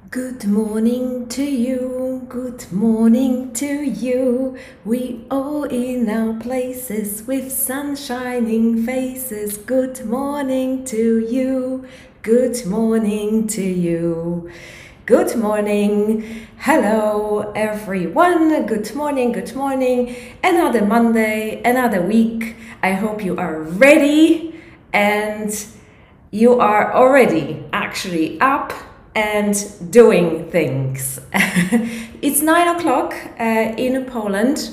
Good morning to you, good morning to you. We all in our places with sun shining faces. Good morning to you, good morning to you. Good morning, hello everyone. Good morning, good morning. Another Monday, another week. I hope you are ready and you are already actually up and doing things. It's 9 o'clock in Poland.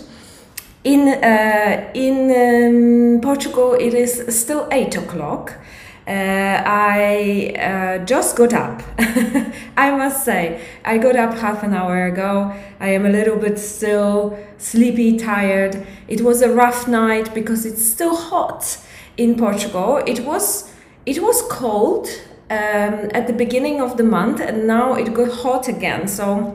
In Portugal, it is still 8 o'clock. I just got up. I must say, I got up half an hour ago. I am a little bit still sleepy, tired. It was a rough night because it's still hot in Portugal. It was cold at the beginning of the month, and now it got hot again. So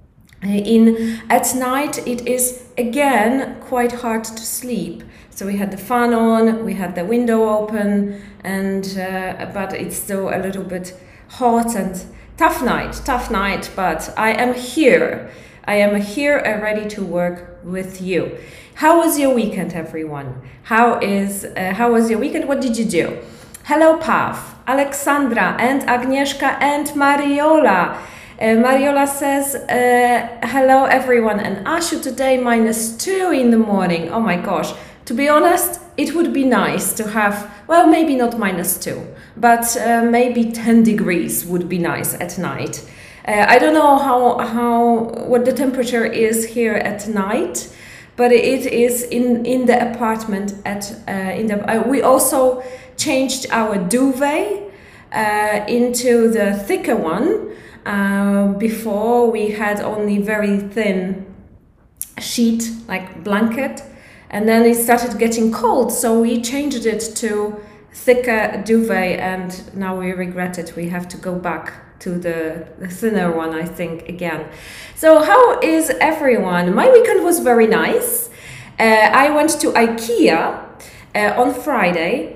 at night it is again quite hard to sleep. So we had the fan on, we had the window open, and but it's still a little bit hot and tough night. But I am here. I am here and ready to work with you. How was your weekend, everyone? How was your weekend? What did you do? Hello, Pav, Alexandra, and Agnieszka, and Mariola. Mariola says, hello, everyone. And Ashu, today -2 in the morning. Oh my gosh. To be honest, it would be nice to have, well, maybe not -2, but maybe 10 degrees would be nice at night. I don't know what the temperature is here at night, but it is in the apartment we also changed our duvet into the thicker one. Before we had only very thin sheet, like blanket, and then it started getting cold, so we changed it to thicker duvet, and now we regret it. We have to go back to the thinner one, I think, again. So how is everyone? My weekend was very nice. I went to IKEA on Friday.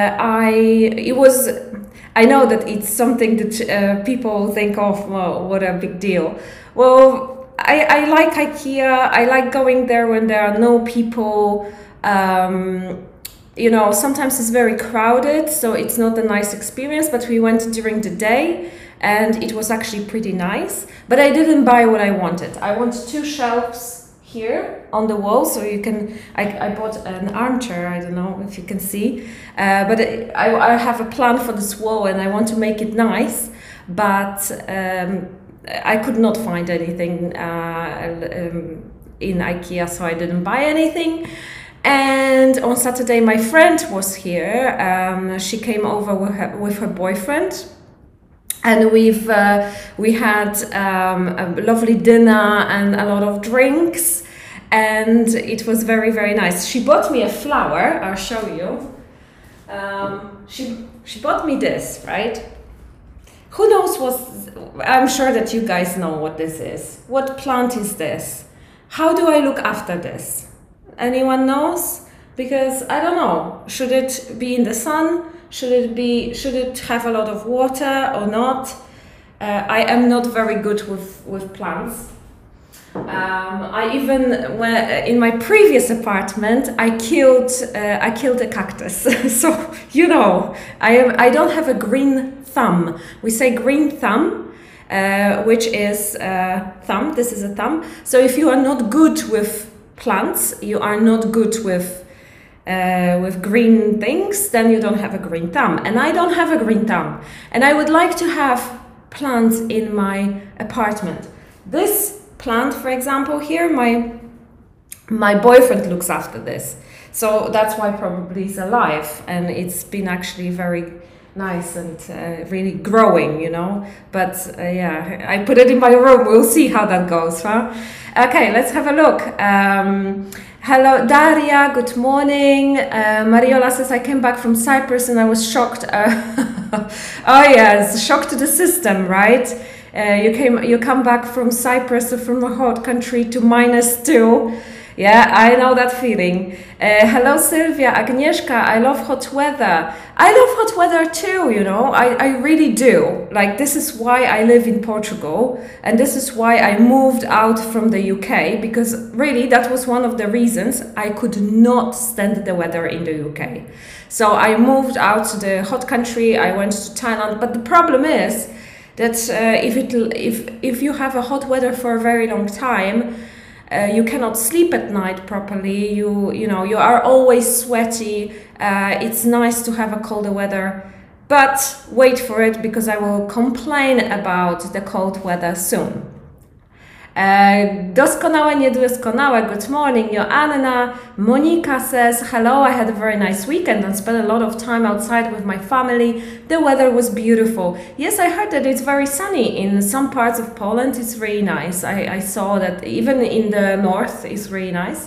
I know that it's something that people think of, well, what a big deal. Well, I like IKEA. I like going there when there are no people. Sometimes it's very crowded, so it's not a nice experience, but we went during the day and it was actually pretty nice. But I didn't buy what I wanted. I want 2 shelves here on the wall, so you can. I bought an armchair. I don't know if you can see, but I have a plan for this wall, and I want to make it nice. But I could not find anything in IKEA, so I didn't buy anything. And on Saturday, my friend was here. She came over with her boyfriend. And we had a lovely dinner and a lot of drinks, and it was very, very nice. She bought me a flower. I'll show you. She bought me this, right? Who knows I'm sure that you guys know what this is. What plant is this? How do I look after this? Anyone knows? Because I don't know. Should it be in the sun? Should it have a lot of water or not? I am not very good with plants. In my previous apartment, I killed a cactus. So I don't have a green thumb. We say green thumb, which is thumb. This is a thumb. So if you are not good with plants, you are not good with green things, then you don't have a green thumb. And I don't have a green thumb. And I would like to have plants in my apartment. This plant, for example, here, my boyfriend looks after this. So that's why probably it's alive. And it's been actually very nice and really growing, But I put it in my room. We'll see how that goes, huh? Okay, let's have a look. Hello, Daria. Good morning. Mariola says, I came back from Cyprus and I was shocked. Oh yes, shock to the system, right? You come back from Cyprus, from a hot country, to -2. Yeah, I know that feeling. Hello, Sylvia, Agnieszka. I love hot weather. I love hot weather too, you know. I really do. Like, this is why I live in Portugal, and this is why I moved out from the UK, because really that was one of the reasons I could not stand the weather in the UK. So I moved out to the hot country. I went to Thailand, but the problem is that if you have a hot weather for a very long time, you cannot sleep at night properly. You are always sweaty. It's nice to have a colder weather, but wait for it, because I will complain about the cold weather soon. Doskonałe, niedoskonałe. Good morning, Joanna. Monica says, hello, I had a very nice weekend and spent a lot of time outside with my family. The weather was beautiful. Yes, I heard that it's very sunny in some parts of Poland. It's really nice. I saw that even in the north it's really nice.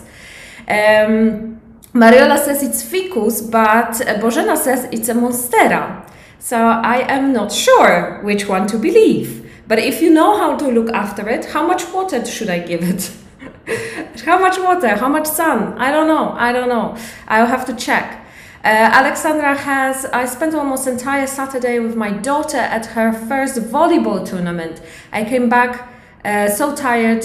Mariola says it's ficus, but Bożena says it's a monstera. So I am not sure which one to believe. But if you know how to look after it, how much water should I give it? How much water? How much sun? I don't know. I'll have to check. Alexandra I spent almost entire Saturday with my daughter at her first volleyball tournament. I came back so tired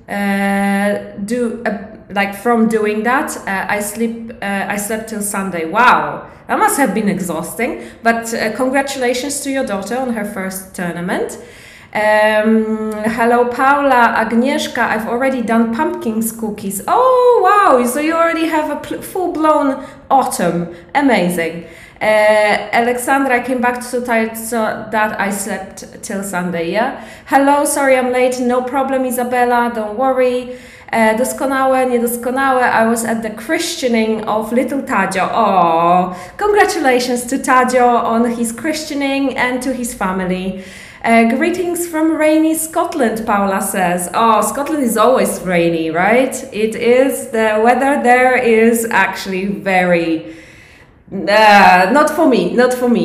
from doing that. I slept till Sunday. Wow, that must have been exhausting. But congratulations to your daughter on her first tournament. Hello, Paula, Agnieszka. I've already done pumpkin cookies. Oh, wow. So you already have a full-blown autumn. Amazing. Alexandra, I came back so tired so that I slept till Sunday, yeah? Hello, sorry I'm late. No problem, Isabella. Don't worry. Doskonałe, niedoskonałe. I was at the christening of little Tadzio. Oh, congratulations to Tadzio on his christening and to his family. Greetings from rainy Scotland, Paula says. Oh, Scotland is always rainy, right? It is. The weather there is actually very... not for me.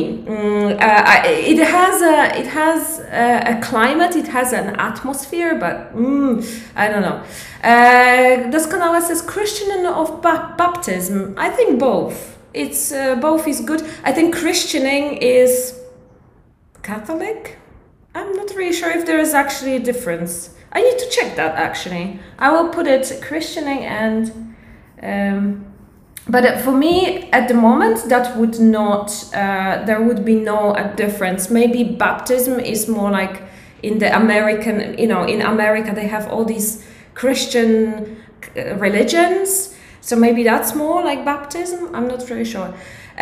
It has a climate, it has an atmosphere, but I don't know. Doskonałe says Christian of baptism. I think both. It's both is good. I think christening is Catholic. I'm not really sure if there is actually a difference. I need to check that actually. I will put it christening and but for me at the moment that would not there would be no difference. Maybe baptism is more like in the American, in America they have all these Christian religions, so maybe that's more like baptism. I'm not really sure.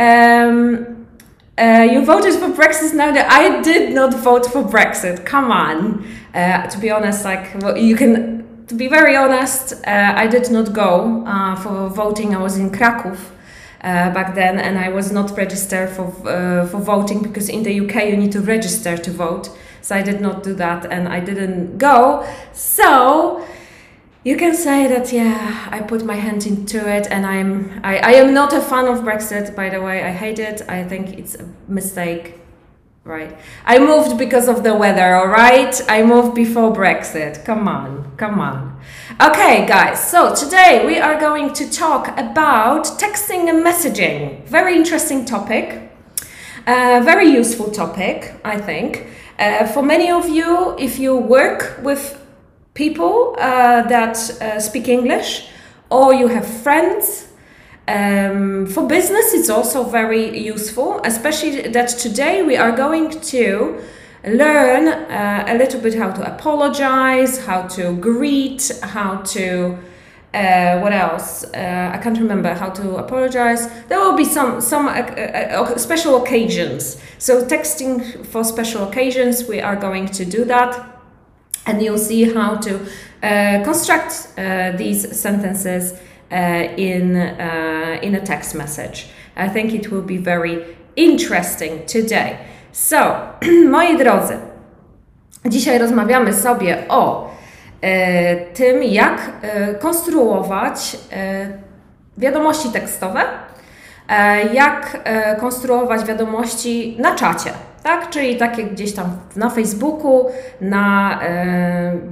You voted for Brexit now. That I did not vote for Brexit. Come on. To be honest, to be very honest, I did not go for voting. I was in Kraków back then, and I was not registered for voting, because in the UK you need to register to vote. So I did not do that, and I didn't go. So you can say that, yeah, I put my hand into it, and I am not a fan of Brexit, by the way. I hate it. I think it's a mistake, right? I moved because of the weather, all right? I moved before Brexit. Come on. Okay, guys, so today we are going to talk about texting and messaging. Very interesting topic. Very useful topic, I think. For many of you, if you work with people that speak English, or you have friends. For business, it's also very useful, especially that today we are going to learn a little bit how to apologize, how to greet, how to what else? I can't remember how to apologize. There will be some special occasions. So texting for special occasions, we are going to do that. And you'll see how to construct these sentences in a text message. I think it will be very interesting today. So, moi drodzy, dzisiaj rozmawiamy sobie o tym, jak konstruować wiadomości tekstowe, jak konstruować wiadomości na czacie. Tak? Czyli takie gdzieś tam na Facebooku,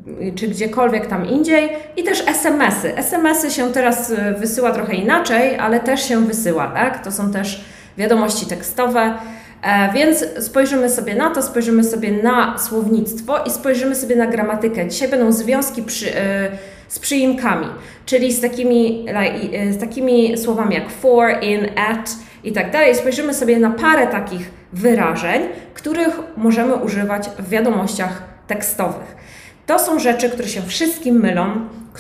czy gdziekolwiek tam indziej i też SMS-y. SMS-y się teraz wysyła trochę inaczej, ale też się wysyła, tak? To są też wiadomości tekstowe, więc spojrzymy sobie na to, spojrzymy sobie na słownictwo i spojrzymy sobie na gramatykę. Dzisiaj będą związki z przyimkami, czyli z takimi słowami jak for, in, at i tak dalej. Spojrzymy sobie na parę takich wyrażeń, których możemy używać w wiadomościach tekstowych. To są rzeczy, które się wszystkim mylą,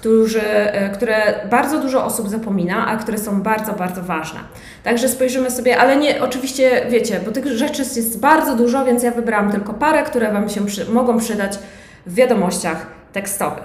które bardzo dużo osób zapomina, a które są bardzo, bardzo ważne. Także spojrzymy sobie, ale nie, oczywiście wiecie, bo tych rzeczy jest bardzo dużo, więc ja wybrałam tylko parę, które Wam się mogą przydać w wiadomościach tekstowych.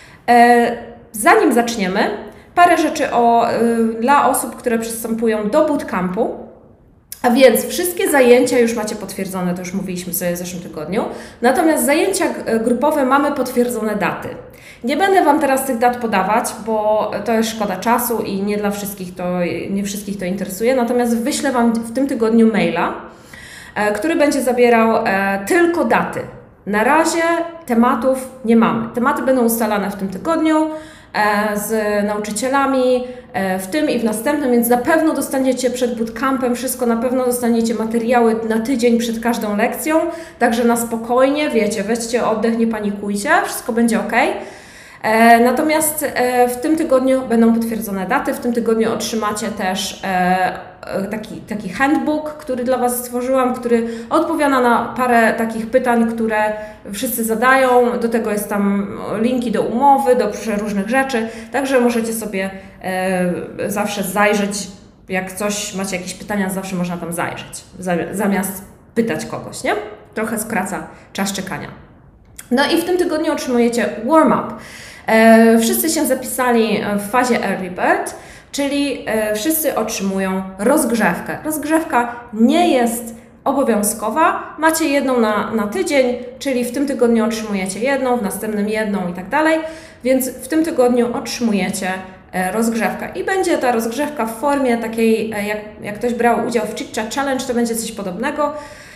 Zanim zaczniemy, parę rzeczy dla osób, które przystępują do bootcampu. A więc wszystkie zajęcia już macie potwierdzone, to już mówiliśmy sobie w zeszłym tygodniu. Natomiast zajęcia grupowe mamy potwierdzone daty. Nie będę Wam teraz tych dat podawać, bo to jest szkoda czasu i nie wszystkich to interesuje. Natomiast wyślę Wam w tym tygodniu maila, który będzie zawierał tylko daty. Na razie tematów nie mamy. Tematy będą ustalane w tym tygodniu z nauczycielami, w tym i w następnym, więc na pewno dostaniecie przed bootcampem wszystko, na pewno dostaniecie materiały na tydzień przed każdą lekcją, także na spokojnie, wiecie, weźcie oddech, nie panikujcie, wszystko będzie ok. Natomiast w tym tygodniu będą potwierdzone daty, w tym tygodniu otrzymacie też taki handbook, który dla Was stworzyłam, który odpowiada na parę takich pytań, które wszyscy zadają. Do tego jest tam linki do umowy, do różnych rzeczy, także możecie sobie zawsze zajrzeć, jak macie jakieś pytania, zawsze można tam zajrzeć, zamiast pytać kogoś, nie? Trochę skraca czas czekania. No i w tym tygodniu otrzymujecie warm-up. Wszyscy się zapisali w fazie Early Bird, czyli wszyscy otrzymują rozgrzewkę. Rozgrzewka nie jest obowiązkowa, macie jedną na tydzień, czyli w tym tygodniu otrzymujecie jedną, w następnym jedną i tak dalej, więc w tym tygodniu otrzymujecie rozgrzewkę. I będzie ta rozgrzewka w formie takiej, jak ktoś brał udział w Chit Chat Challenge, to będzie coś podobnego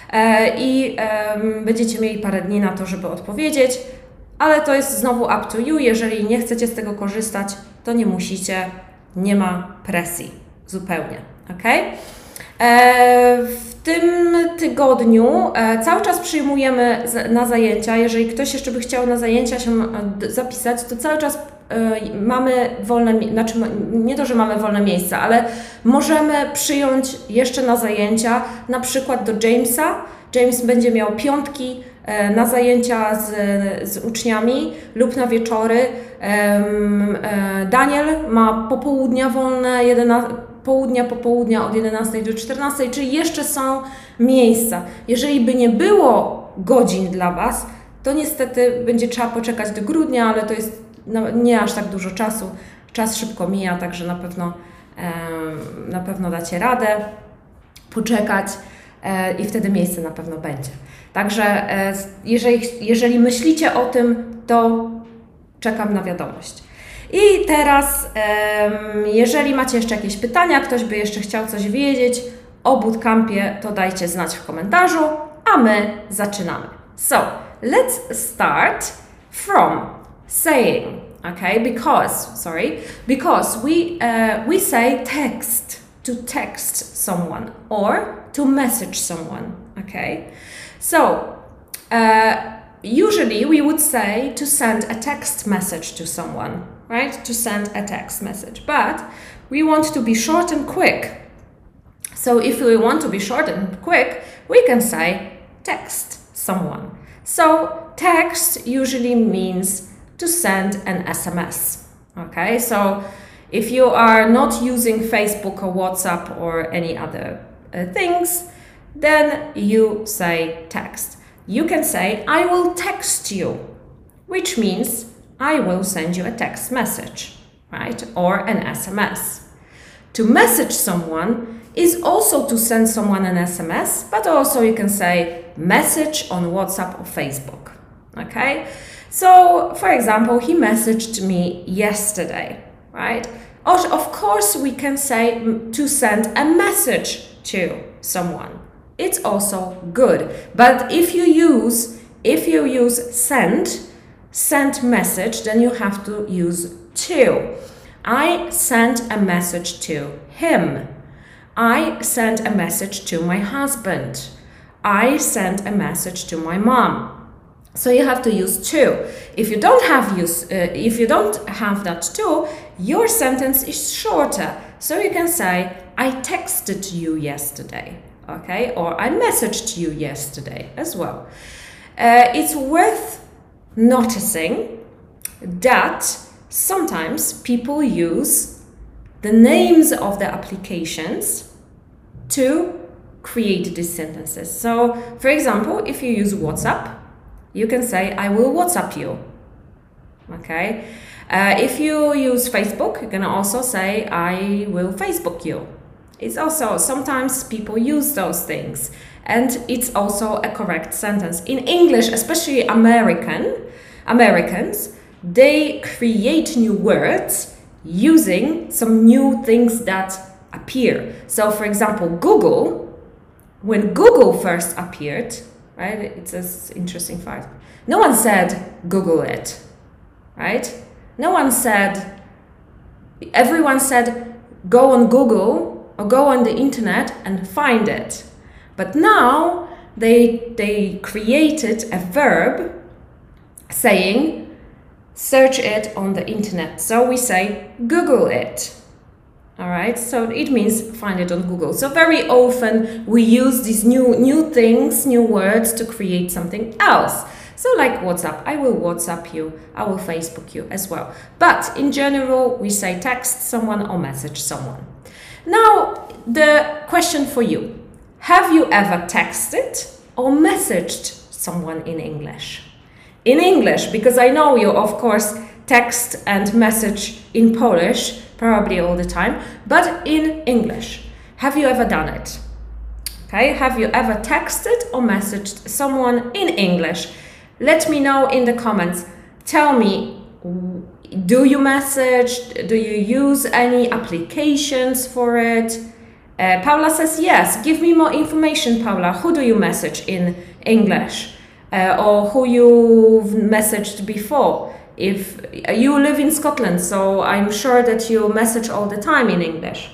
i będziecie mieli parę dni na to, żeby odpowiedzieć, ale to jest znowu up to you. Jeżeli nie chcecie z tego korzystać, to nie musicie, nie ma presji zupełnie, ok? W tym tygodniu cały czas przyjmujemy na zajęcia. Jeżeli ktoś jeszcze by chciał na zajęcia się zapisać, to cały czas mamy wolne, znaczy nie to, że mamy wolne miejsca, ale możemy przyjąć jeszcze na zajęcia, na przykład do Jamesa. James będzie miał piątki na zajęcia z uczniami lub na wieczory. Daniel ma popołudnia wolne, popołudnia od 11 do 14, czyli jeszcze są miejsca. Jeżeli by nie było godzin dla Was, to niestety będzie trzeba poczekać do grudnia, ale to jest nie aż tak dużo czasu. Czas szybko mija, także na pewno dacie radę poczekać i wtedy miejsce na pewno będzie. Także jeżeli myślicie o tym, to czekam na wiadomość. I teraz, jeżeli macie jeszcze jakieś pytania, ktoś by jeszcze chciał coś wiedzieć o bootcampie, to dajcie znać w komentarzu, a my zaczynamy. So, let's start from saying, okay, because we say to text someone or to message someone, okay? So, usually we would say to send a text message to someone, right? To send a text message, but we want to be short and quick. So if we want to be short and quick, we can say text someone. So text usually means to send an SMS, okay? So if you are not using Facebook or WhatsApp or any other things, then you say text. You can say, I will text you, which means I will send you a text message, right? Or an SMS. To message someone is also to send someone an SMS, but also you can say message on WhatsApp or Facebook, okay? So, for example, he messaged me yesterday, right? Of course, we can say to send a message to someone. It's also good. But if you use send, send message, then you have to use to. I sent a message to him. I sent a message to my husband. I sent a message to my mom. So you have to use to. If you don't have that to, your sentence is shorter. So you can say, I texted you yesterday, okay? Or I messaged you yesterday as well. It's worth noticing that sometimes people use the names of the applications to create these sentences. So, for example, if you use WhatsApp, you can say, I will WhatsApp you. Okay? If you use Facebook, you can also say, I will Facebook you. It's also, sometimes people use those things. And it's also a correct sentence. In English, especially Americans, they create new words using some new things that appear. So, for example, Google, when Google first appeared, right? It's an interesting fact. No one said, Google it, right? No one said, everyone said, go on Google or go on the internet and find it. But now they created a verb saying, search it on the internet. So we say, Google it. All right, so it means find it on Google. So very often we use these new things, new words to create something else. So like WhatsApp, I will WhatsApp you, I will Facebook you as well. But in general, we say text someone or message someone. Now, the question for you. Have you ever texted or messaged someone in English? In English, because I know you, of course, text and message in Polish, probably all the time, but in English. Have you ever done it? Okay, have you ever texted or messaged someone in English? Let me know in the comments. Tell me, do you message? Do you use any applications for it? Paula says yes. Give me more information, Paula. Who do you message in English? Or who you've messaged before? If you live in Scotland, so I'm sure that you message all the time in English.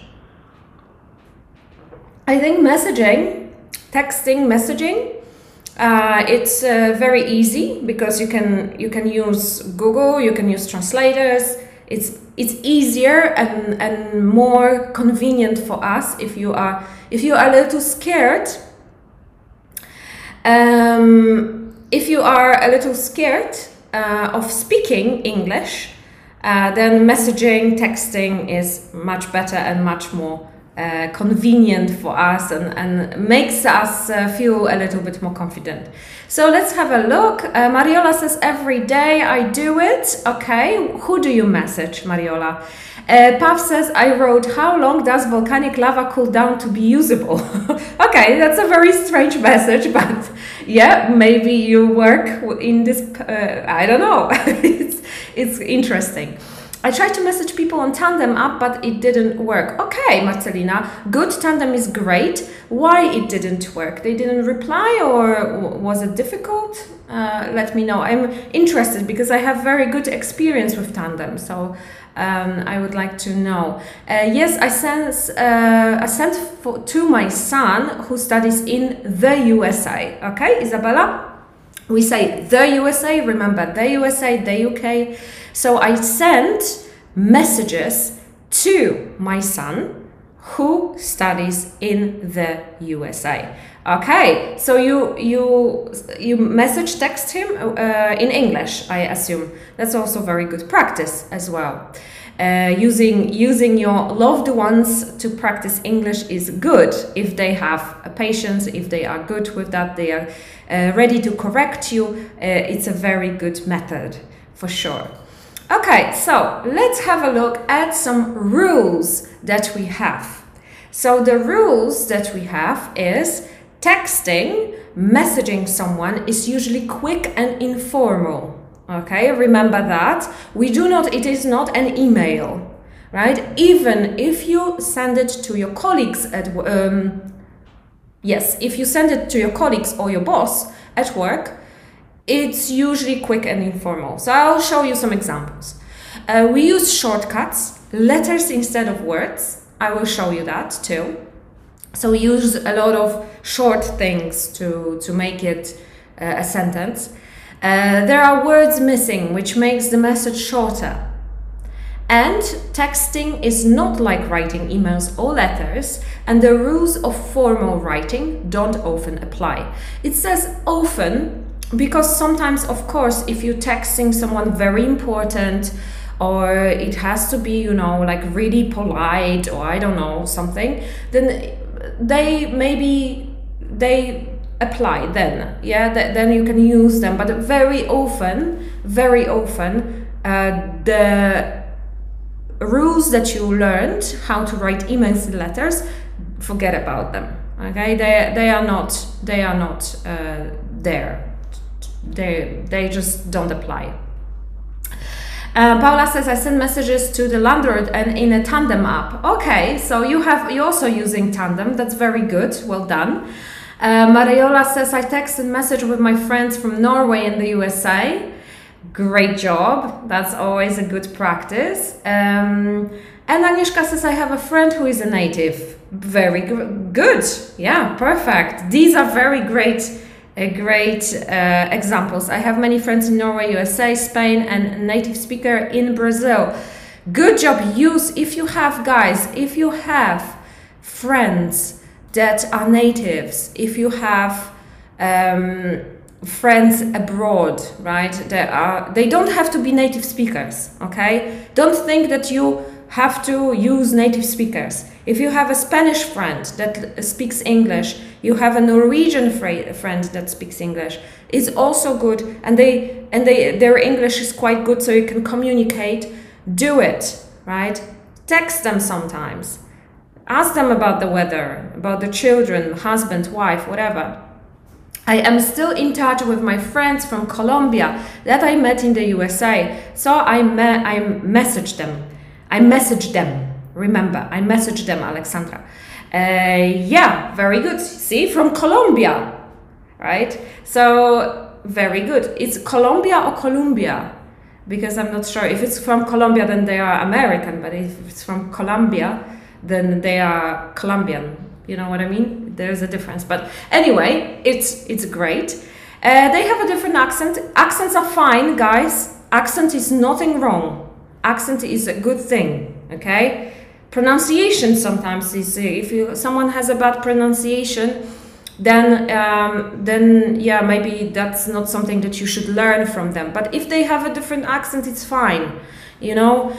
I think messaging, it's very easy because you can use Google, you can use translators. It's easier and more convenient for us if you are a little scared. If you are a little scared of speaking English, then messaging, texting is much better and much more convenient for us and makes us feel a little bit more confident. So let's have a look. Mariola says, every day I do it. Okay, who do you message, Mariola? Pav says, I wrote, how long does volcanic lava cool down to be usable? Okay, that's a very strange message, but yeah, maybe you work in this, I don't know. It's interesting. I tried to message people on Tandem app, but it didn't work. Okay, Marcelina, good. Tandem is great. Why it didn't work? They didn't reply, or was it difficult? Let me know. I'm interested because I have very good experience with Tandem, so I would like to know. Yes, I sent to my son who studies in the USA. Okay, Isabella? We say the USA, remember the USA, the UK. So I sent messages to my son who studies in the USA. Okay, so you message text him in English, I assume. That's also very good practice as well. Using your loved ones to practice English is good if they have patience, if they are good with that, they are ready to correct you. It's a very good method for sure. Okay, so let's have a look at some rules that we have. So the rules that we have is texting, messaging someone is usually quick and informal. Okay, remember that. It is not an email, right? Even if you send it to your colleagues if you send it to your colleagues or your boss at work, it's usually quick and informal. So I'll show you some examples. We use shortcuts, letters instead of words. I will show you that too. So we use a lot of short things to make it a sentence. There are words missing, which makes the message shorter. And texting is not like writing emails or letters, and the rules of formal writing don't often apply. It says often because sometimes, of course, if you're texting someone very important, or it has to be, you know, like really polite, or I don't know, something, then they apply then, yeah, then you can use them. But very often, the rules that you learned how to write emails and letters, forget about them. Okay, they are not there. They just don't apply. Paula says, I send messages to the landlord and in a Tandem app. Okay, so you're also using Tandem. That's very good. Well done. Mariola says, I text and message with my friends from Norway and the USA. Great job. That's always a good practice. And Agnieszka says, I have a friend who is a native. Very good. Yeah, perfect. These are very great examples. I have many friends in Norway, USA, Spain, and a native speaker in Brazil. Good job. If you have friends that are natives, if you have friends abroad, right? They don't have to be native speakers, okay? Don't think that you have to use native speakers. If you have a Spanish friend that speaks English, you have a Norwegian friend that speaks English, it's also good, and their English is quite good, so you can communicate. Do it, right? Text them sometimes. Ask them about the weather, about the children, husband, wife, whatever. I am still in touch with my friends from Colombia that I met in the USA, so I messaged them. Remember, I messaged them, Alexandra. Yeah, very good. See, from Colombia, right? So, very good. It's Colombia or Columbia? Because I'm not sure. If it's from Colombia, then they are American, but if it's from Colombia, then they are Colombian. You know what I mean? There's a difference. But anyway, it's great. They have a different accent. Accents are fine, guys. Accent is nothing wrong. Accent is a good thing, okay? Pronunciation sometimes is, if someone has a bad pronunciation, then yeah, maybe that's not something that you should learn from them. But if they have a different accent, it's fine. You know,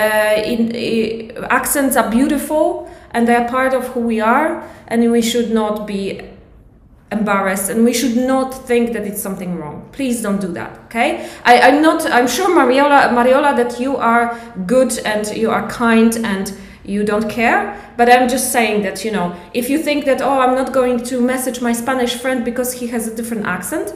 accents are beautiful and they're part of who we are, and we should not be embarrassed, and we should not think that it's something wrong. Please don't do that, okay? I'm sure, Mariola, that you are good and you are kind and you don't care, but I'm just saying that, you know, if you think that, oh, I'm not going to message my Spanish friend because he has a different accent,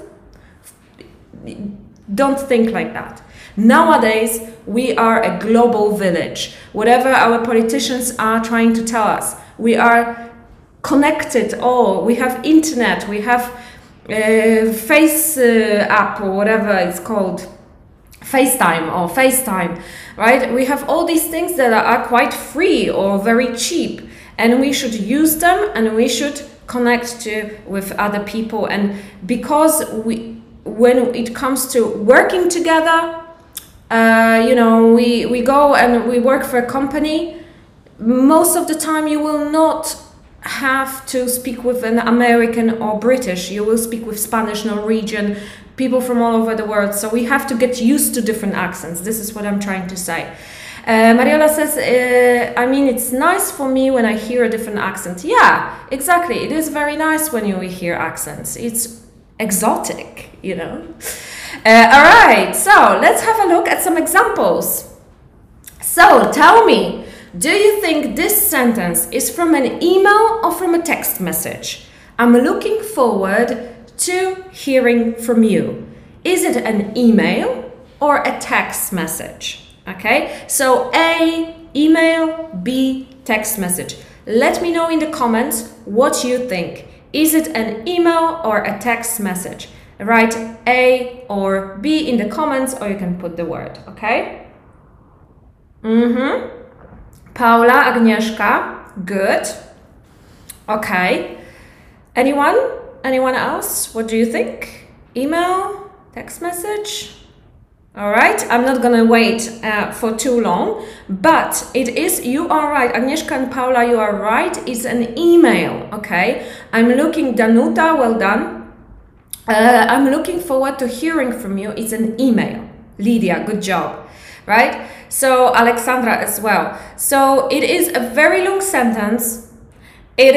don't think like that. Nowadays, we are a global village. Whatever our politicians are trying to tell us, we are connected all. We have internet, we have Face app or whatever it's called, FaceTime, right? We have all these things that are quite free or very cheap, and we should use them, and we should connect with other people. And because when it comes to working together, you know, we go and we work for a company, most of the time you will not have to speak with an American or British. You will speak with Spanish, Norwegian, people from all over the world. So we have to get used to different accents. This is what I'm trying to say. Mariola says, I mean, it's nice for me when I hear a different accent. Yeah, exactly. It is very nice when you hear accents. It's exotic, you know. All right, so let's have a look at some examples. So tell me, do you think this sentence is from an email or from a text message? I'm looking forward to hearing from you. Is it an email or a text message? Okay, so A, email, B, text message. Let me know in the comments what you think. Is it an email or a text message? Write A or B in the comments, or you can put the word, okay? Paula, Agnieszka, good. Okay. Anyone? Anyone else? What do you think? Email? Text message? All right, I'm not gonna wait for too long, but it is, you are right, Agnieszka and Paula, you are right, it's an email, okay? I'm looking, Danuta, well done. I'm looking forward to hearing from you, it's an email. Lydia, good job, right? So Alexandra as well. So it is a very long sentence. It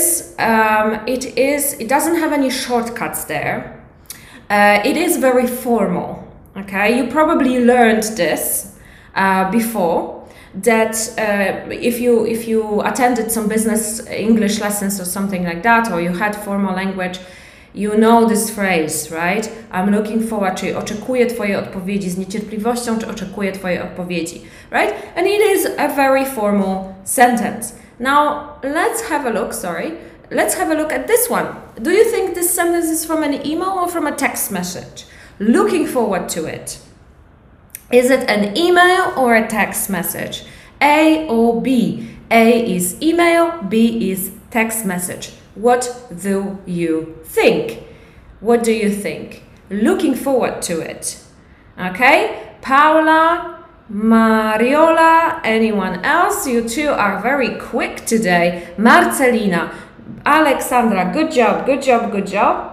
doesn't have any shortcuts there. It is very formal. Okay, you probably learned this before, that if you attended some business English lessons or something like that, or you had formal language, you know this phrase, right? I'm looking forward to, oczekuję twojej odpowiedzi, z niecierpliwością oczekuję twojej odpowiedzi, right? And it is a very formal sentence. Now, let's have a look, let's have a look at this one. Do you think this sentence is from an email or from a text message? Looking forward to it. Is it an email or a text message? A or B? A is email, B is text message. What do you think? What do you think? Looking forward to it. Okay? Paula, Mariola, anyone else? You two are very quick today. Marcelina, Alexandra, good job, good job, good job.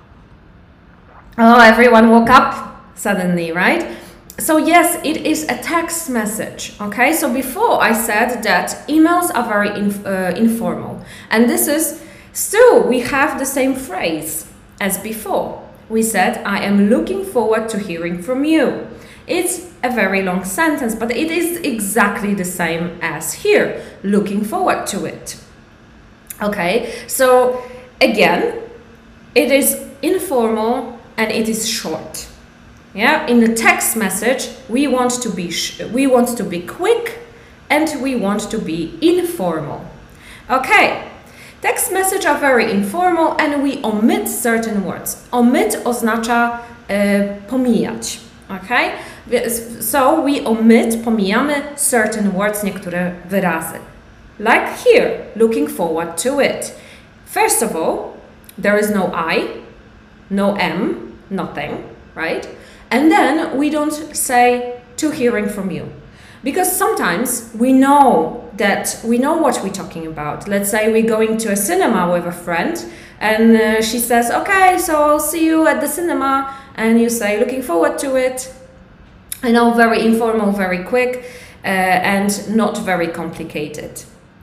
Oh, everyone woke up suddenly, right? So yes, it is a text message, okay? So before I said that emails are very informal. And this is, still, we have the same phrase as before. We said, I am looking forward to hearing from you. It's a very long sentence, but it is exactly the same as here, looking forward to it. Okay, so again, it is informal, and it is short. Yeah, in the text message, we want to be quick, and we want to be informal. Okay, text message are very informal, and we omit certain words. Omit oznacza pomijać. Okay, so we omit, pomijamy certain words, niektóre wyrazy. Like here, looking forward to it. First of all, there is no I, no M, nothing, right? And then we don't say to hearing from you. Because sometimes we know what we're talking about. Let's say we're going to a cinema with a friend and she says, okay, so I'll see you at the cinema. And you say, looking forward to it. I know, very informal, very quick, and not very complicated.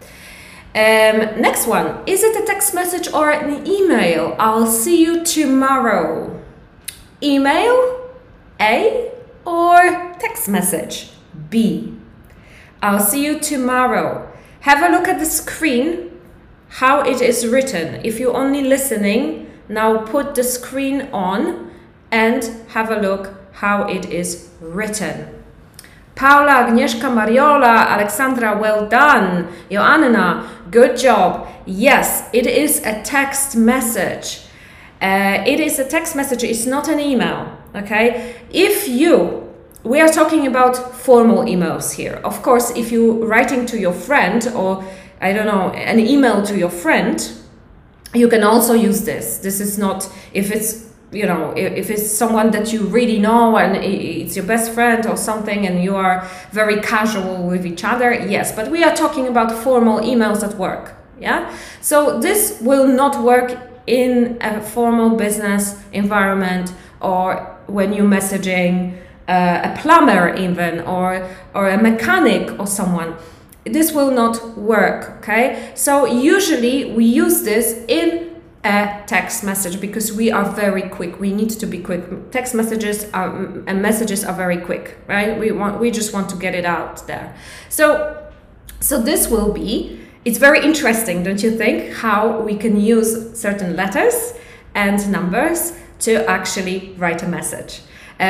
Next one, is it a text message or an email? I'll see you tomorrow. Email, A, or text message, B. I'll see you tomorrow. Have a look at the screen, how it is written. If you're only listening, now put the screen on and have a look how it is written. Paula, Agnieszka, Mariola, Alexandra, well done. Joanna, good job. Yes, it is a text message. It is a text message, it's not an email, okay? We are talking about formal emails here. Of course, if you're writing to your friend or, I don't know, an email to your friend, you can also use this. This is not, if it's, you know, if it's someone that you really know and it's your best friend or something and you are very casual with each other, yes, but we are talking about formal emails at work, yeah? So this will not work in a formal business environment or when you're messaging a plumber even or a mechanic or someone. This will not work, okay? So usually we use this in a text message because we are very quick. We need to be quick. Text messages and messages are very quick, right? We just want to get it out there. So this will be, it's very interesting, don't you think, how we can use certain letters and numbers to actually write a message.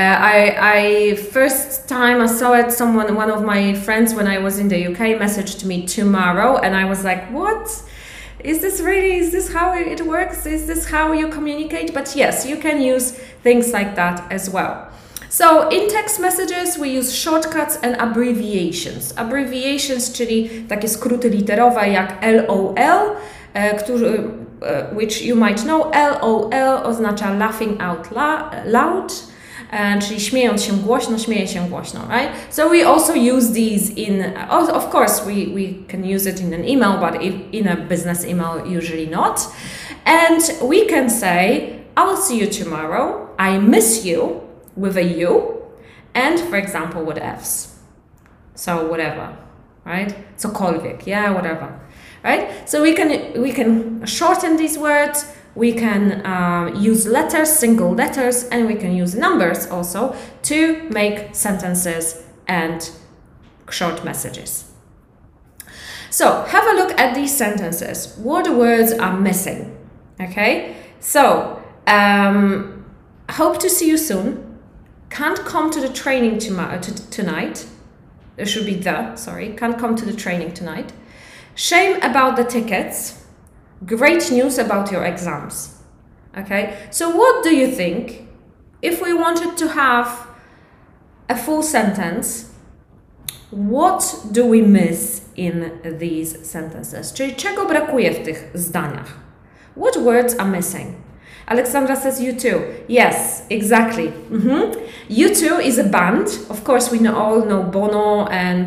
First time I saw it, one of my friends when I was in the UK messaged me tomorrow and I was like, what? Is this how it works? Is this how you communicate? But yes, you can use things like that as well. So in text messages we use shortcuts and abbreviations. Abbreviations, czyli takie skróty literowe jak LOL, which you might know. LOL oznacza laughing out loud, czyli śmiejąc się głośno, śmieje się głośno, right? So we also use these in, of course we can use it in an email, but in a business email usually not. And we can say, I'll see you tomorrow, I miss you, with a U, and for example with Fs. So whatever, right? Cokolwiek, yeah, whatever, right? So we can shorten these words. We can use letters, single letters, and we can use numbers also to make sentences and short messages. So have a look at these sentences. What words are missing? Okay, so hope to see you soon. Can't come to the training tonight. There should be can't come to the training tonight. Shame about the tickets. Great news about your exams. Okay, so what do you think if we wanted to have a full sentence? What do we miss in these sentences? Czyli czego brakuje w tych zdaniach? What words are missing? Alexandra says U2. Yes, exactly. U2 is a band. Of course, we all know Bono and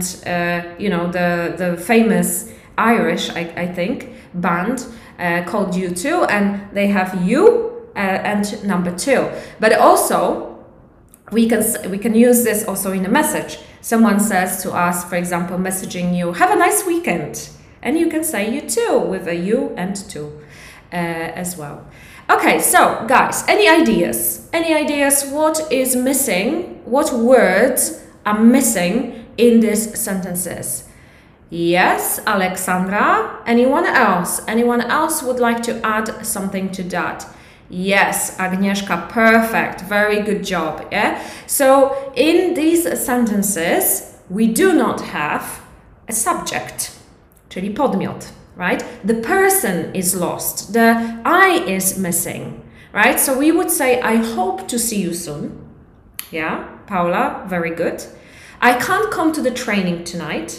the famous Irish, I think, band called U2, and they have U and number 2. But also, we can use this also in a message. Someone says to us, for example, messaging you, "Have a nice weekend," and you can say U2 with a U and 2 as well. Okay, so guys, any ideas? Any ideas what is missing? What words are missing in these sentences? Yes, Alexandra. Anyone else? Anyone else would like to add something to that? Yes, Agnieszka, perfect. Very good job, yeah? So in these sentences, we do not have a subject, czyli podmiot. Right? The person is lost. The I is missing. Right? So we would say, I hope to see you soon. Yeah, Paula, very good. I can't come to the training tonight.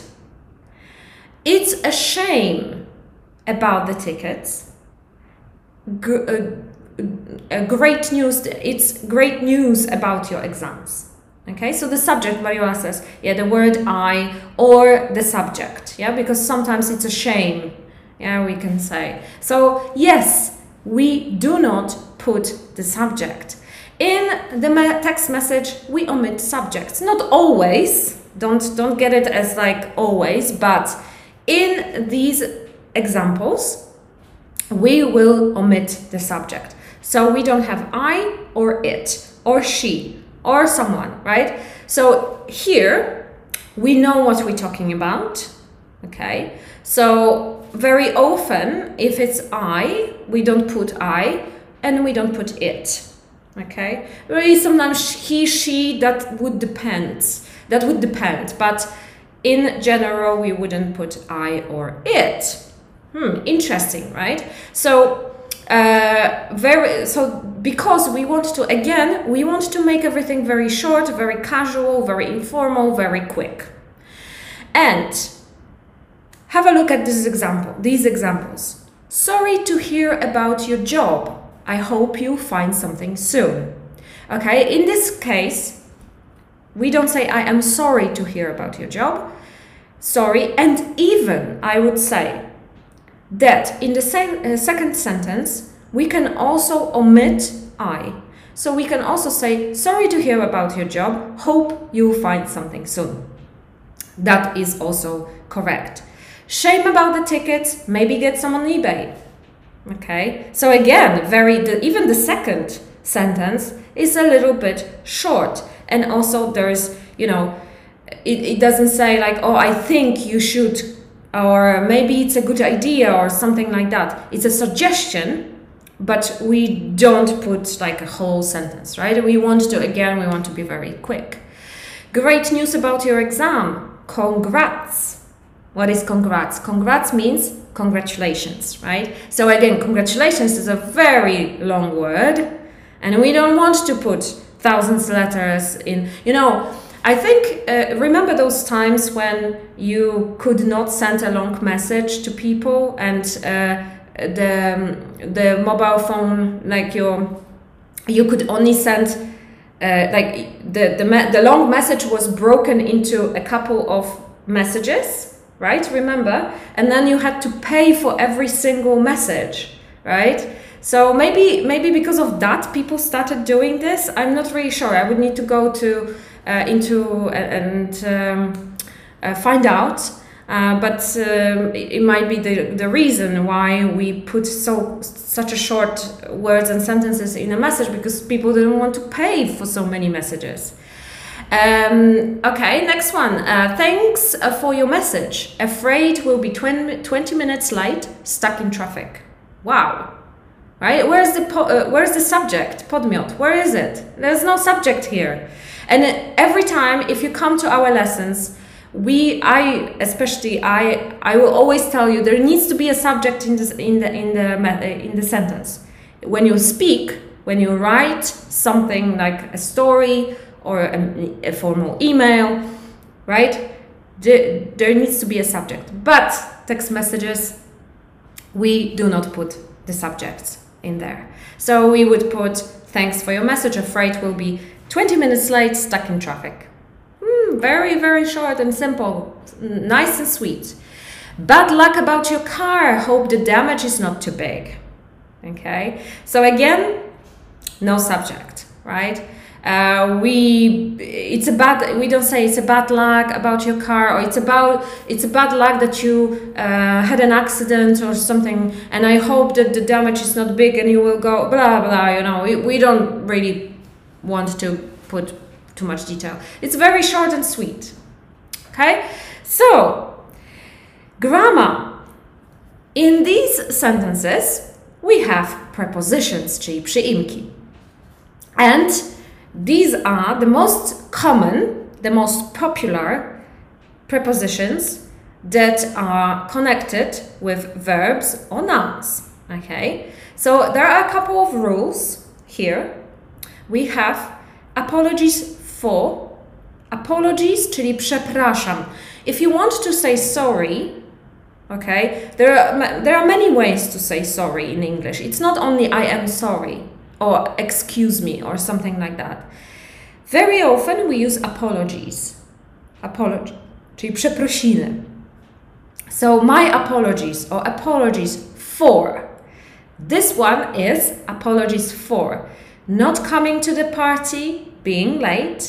It's a shame about the tickets. Great news. It's great news about your exams. Okay, so the subject, Mariola says, yeah, the word I or the subject. Yeah, because sometimes it's a shame. Yeah, we can say. So yes, we do not put the subject. In the text message, we omit subjects. Not always. Don't get it as like always, but in these examples, we will omit the subject. So we don't have I or it or she or someone, right? So here we know what we're talking about. Okay, so very often, if it's I, we don't put I and we don't put it. Okay, really sometimes he, she, that would depend. But in general, we wouldn't put I or it. Interesting, right? So because we want to make everything very short, very casual, very informal, very quick. And have a look at these examples. Sorry to hear about your job. I hope you find something soon. Okay, in this case, we don't say I am sorry to hear about your job. Sorry, and even I would say that in the second sentence, we can also omit I. So we can also say, sorry to hear about your job. Hope you find something soon. That is also correct. Shame about the tickets, maybe get some on eBay. Okay, so again, even the second sentence is a little bit short. And also there's, it doesn't say like, oh, I think you should, or maybe it's a good idea or something like that. It's a suggestion, but we don't put like a whole sentence, right? We want to be very quick. Great news about your exam. Congrats. What is congrats? Congrats means congratulations, right? So again, congratulations is a very long word, and we don't want to put thousands of letters in. I think, remember those times when you could not send a long message to people, and the mobile phone, like you could only send, like the long message was broken into a couple of messages, right? Remember? And then you had to pay for every single message, right? So maybe because of that, people started doing this. I'm not really sure. I would need to go into and find out. But it might be the reason why we put such a short words and sentences in a message, because people didn't want to pay for so many messages. Okay, next one. Thanks for your message. Afraid we'll be 20 minutes late, stuck in traffic. Wow. Right? Where's the subject? Podmiot. Where is it? There's no subject here. And every time, if you come to our lessons, I will always tell you there needs to be a subject in the sentence. When you speak, when you write something like a story or a formal email, right? There needs to be a subject. But text messages, we do not put the subjects in there. So we would put, thanks for your message, afraid we'll be 20 minutes late, stuck in traffic. Very, very short and simple, nice and sweet. Bad luck about your car, hope the damage is not too big. Okay, so again, no subject, right? We don't say it's a bad luck about your car, or it's a bad luck that you had an accident or something, and I hope that the damage is not big and you will go blah blah. We don't really want to put too much detail. It's very short and sweet. Okay, so grammar. In these sentences we have prepositions, czyli przyimki, and these are the most common, the most popular prepositions that are connected with verbs or nouns. Okay, so there are a couple of rules here. We have apologies for. Apologies, czyli przepraszam. If you want to say sorry, okay, there are many ways to say sorry in English. It's not only I am sorry or excuse me or something like that. Very often we use apologies. Apology, czyli przeprosiny. So my apologies or apologies for. This one is apologies for. Not coming to the party, being late.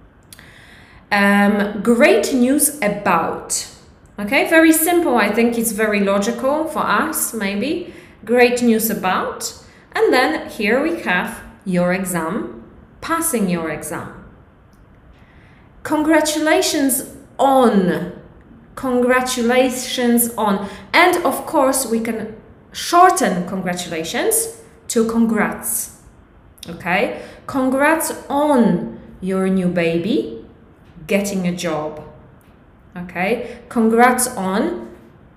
Great news about. Okay, very simple. I think it's very logical for us, maybe. Great news about. And then here we have your exam, passing your exam. Congratulations on. Congratulations on. And of course, we can shorten congratulations to congrats. Okay, congrats on your new baby getting a job. Okay, congrats on,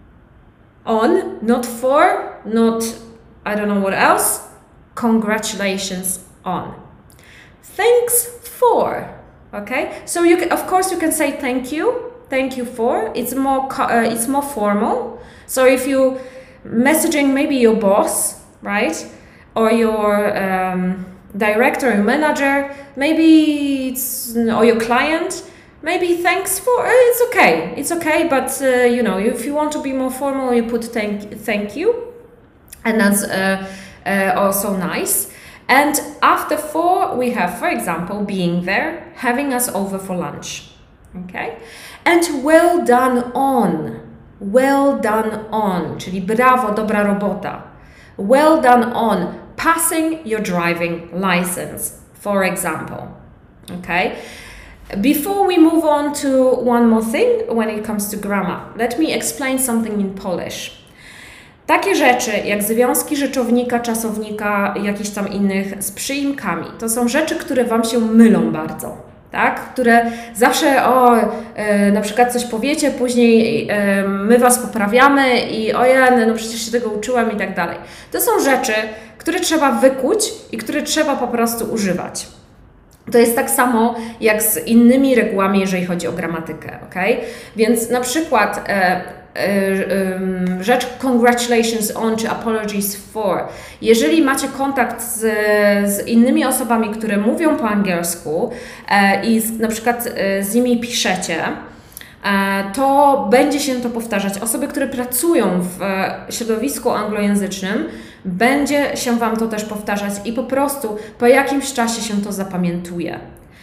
not for, not I don't know what else. Congratulations on. Thanks for. Okay, so you can, of course, you can say thank you for. It's more formal. So if you messaging maybe your boss, right, or your director or manager, maybe it's, or your client, maybe thanks for, it's okay, but if you want to be more formal, you put thank you, and that's also nice. And after for, we have, for example, being there, having us over for lunch. Okay, and well done on, czyli brawo, dobra robota. Well done on passing your driving license, for example. Okay, before we move on to one more thing when it comes to grammar, let me explain something in Polish. Takie rzeczy jak związki rzeczownika, czasownika, jakichś tam innych z przyimkami, to są rzeczy, które Wam się mylą bardzo. tak? Które zawsze, na przykład coś powiecie, później my Was poprawiamy i no przecież się tego uczyłam i tak dalej. To są rzeczy, które trzeba wykuć i które trzeba po prostu używać. To jest tak samo jak z innymi regułami, jeżeli chodzi o gramatykę, ok? Więc na przykład rzecz congratulations on czy apologies for. Jeżeli macie kontakt z innymi osobami, które mówią po angielsku i na przykład z nimi piszecie, to będzie się to powtarzać. Osoby, które pracują w środowisku anglojęzycznym, będzie się Wam to też powtarzać i po prostu po jakimś czasie się to zapamiętuje.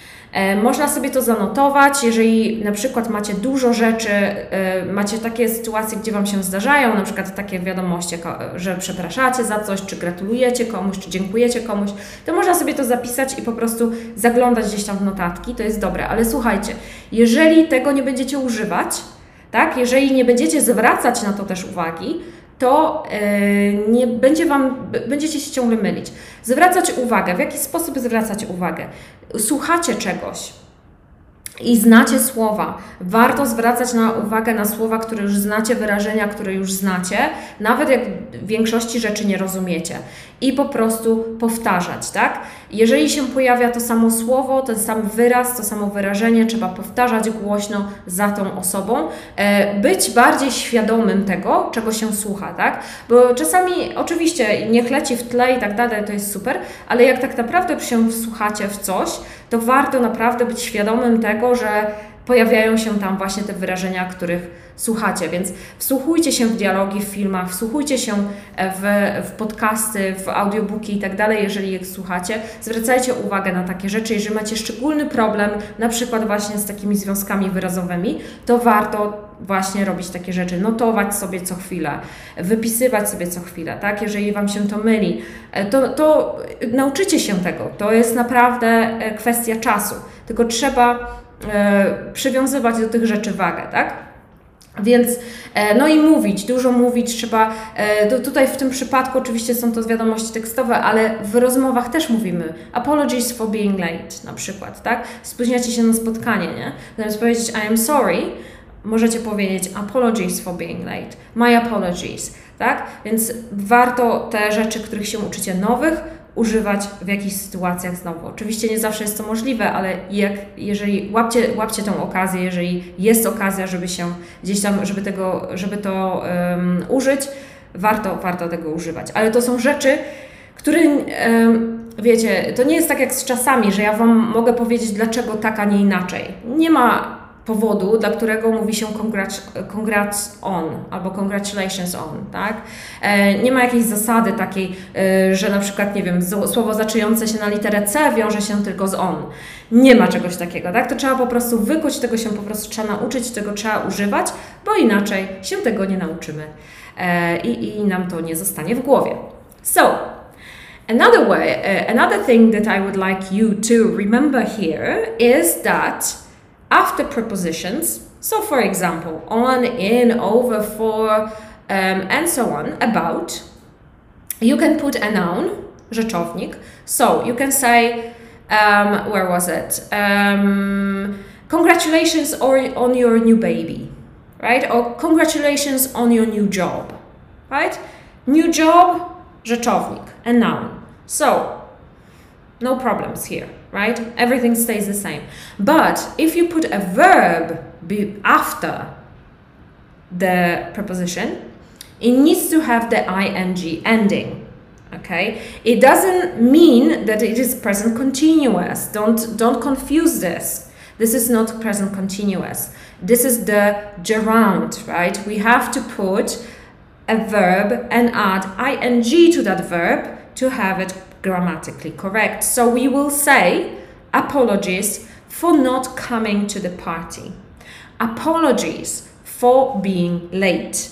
Można sobie to zanotować, jeżeli na przykład macie dużo rzeczy, macie takie sytuacje, gdzie Wam się zdarzają, na przykład takie wiadomości, że przepraszacie za coś, czy gratulujecie komuś, czy dziękujecie komuś, to można sobie to zapisać i po prostu zaglądać gdzieś tam w notatki, to jest dobre. Ale słuchajcie, jeżeli tego nie będziecie używać, tak, jeżeli nie będziecie zwracać na to też uwagi, to nie będzie będziecie się ciągle mylić. Zwracać uwagę. W jaki sposób zwracać uwagę? Słuchacie czegoś i znacie słowa. Warto zwracać uwagę na słowa, które już znacie, wyrażenia, które już znacie, nawet jak większości rzeczy nie rozumiecie. I po prostu powtarzać, tak? Jeżeli się pojawia to samo słowo, ten sam wyraz, to samo wyrażenie, trzeba powtarzać głośno za tą osobą. Być bardziej świadomym tego, czego się słucha, tak? Bo czasami oczywiście niech leci w tle i tak dalej, to jest super, ale jak tak naprawdę się wsłuchacie w coś, to warto naprawdę być świadomym tego, że pojawiają się tam właśnie te wyrażenia, których słuchacie, więc wsłuchujcie się w dialogi w filmach, wsłuchujcie się w podcasty, w audiobooki i tak dalej, jeżeli je słuchacie. Zwracajcie uwagę na takie rzeczy. Jeżeli macie szczególny problem, na przykład właśnie z takimi związkami wyrazowymi, to warto właśnie robić takie rzeczy, notować sobie co chwilę, wypisywać sobie co chwilę, tak? Jeżeli Wam się to myli, to nauczycie się tego. To jest naprawdę kwestia czasu, tylko trzeba przywiązywać do tych rzeczy wagę, tak? Więc, no i mówić, dużo mówić trzeba, tutaj w tym przypadku oczywiście są to wiadomości tekstowe, ale w rozmowach też mówimy apologies for being late na przykład, tak? Spóźniacie się na spotkanie, nie? Zamiast powiedzieć I am sorry, możecie powiedzieć apologies for being late, my apologies, tak? Więc warto te rzeczy, których się uczycie nowych, używać w jakichś sytuacjach znowu. Oczywiście nie zawsze jest to możliwe, ale jeżeli łapcie tą okazję, jeżeli jest okazja, żeby się gdzieś tam, żeby to użyć, warto tego używać. Ale to są rzeczy, które wiecie, to nie jest tak jak z czasami, że ja Wam mogę powiedzieć, dlaczego tak, a nie inaczej. Nie ma powodu, dla którego mówi się congrats on albo congratulations on, tak? Nie ma jakiejś zasady takiej, że na przykład, nie wiem, słowo zaczynające się na literę C wiąże się tylko z on. Nie ma czegoś takiego, tak? To trzeba po prostu wykuć, tego się po prostu trzeba nauczyć, tego trzeba używać, bo inaczej się tego nie nauczymy i nam to nie zostanie w głowie. So, another thing that I would like you to remember here is that after prepositions, so for example, on, in, over, for, and so on, about, you can put a noun, rzeczownik. So you can say, where was it? Congratulations on your new baby, right? Or congratulations on your new job, right? New job, rzeczownik, a noun. So, no problems here, right? Everything stays the same. But if you put a verb after the preposition, it needs to have the ing ending, okay? It doesn't mean that it is present continuous. Don't confuse this. This is not present continuous. This is the gerund, right? We have to put a verb and add ing to that verb to have it grammatically correct. So we will say apologies for not coming to the party. Apologies for being late.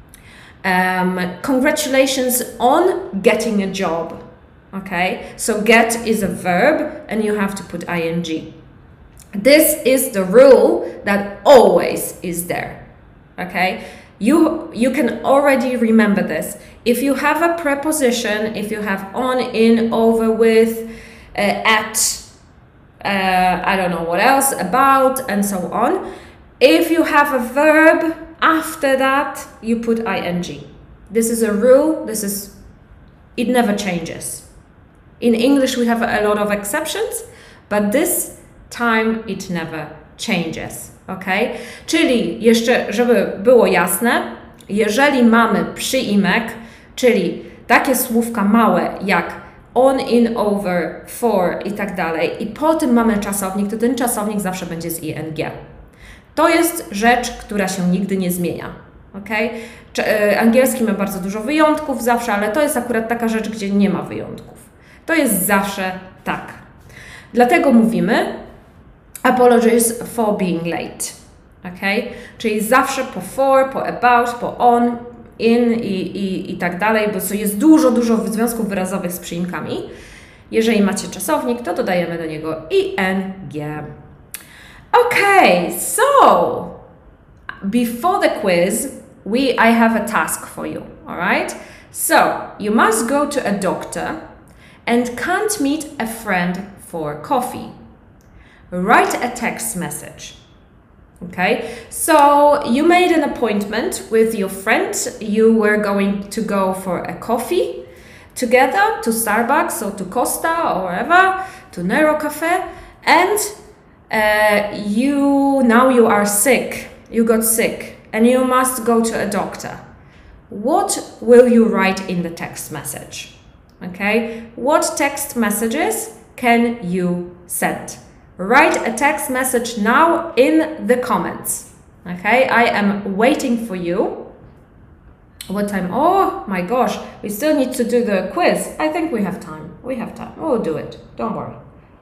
Congratulations on getting a job. Okay, so get is a verb and you have to put ing. This is the rule that always is there. Okay, you can already remember this. If you have a preposition, if you have on, in, over, with, at, I don't know what else, about, and so on. If you have a verb after that, you put ing. This is a rule. It never changes. In English, we have a lot of exceptions, but this time it never changes. Ok? Czyli jeszcze, żeby było jasne, jeżeli mamy przyimek, czyli takie słówka małe jak on, in, over, for i tak dalej, i po tym mamy czasownik, to ten czasownik zawsze będzie z ing. To jest rzecz, która się nigdy nie zmienia. Okay? Angielski ma bardzo dużo wyjątków zawsze, ale to jest akurat taka rzecz, gdzie nie ma wyjątków. To jest zawsze tak. Dlatego mówimy apologies for being late. Okay? Czyli zawsze po for, po about, po on, in i tak dalej, bo jest dużo związków wyrazowych z przyimkami. Jeżeli macie czasownik, to dodajemy do niego ing. Okay, so before the quiz, I have a task for you, all right? So you must go to a doctor and can't meet a friend for coffee. Write a text message. Okay, so you made an appointment with your friend. You were going to go for a coffee together to Starbucks or to Costa or wherever, to Nero Cafe, and now you are sick. You got sick and you must go to a doctor. What will you write in the text message? Okay, what text messages can you send? Write a text message now in the comments. Okay, I am waiting for you. What time? Oh my gosh, we still need to do the quiz. I think we have time. We'll do it. Don't worry.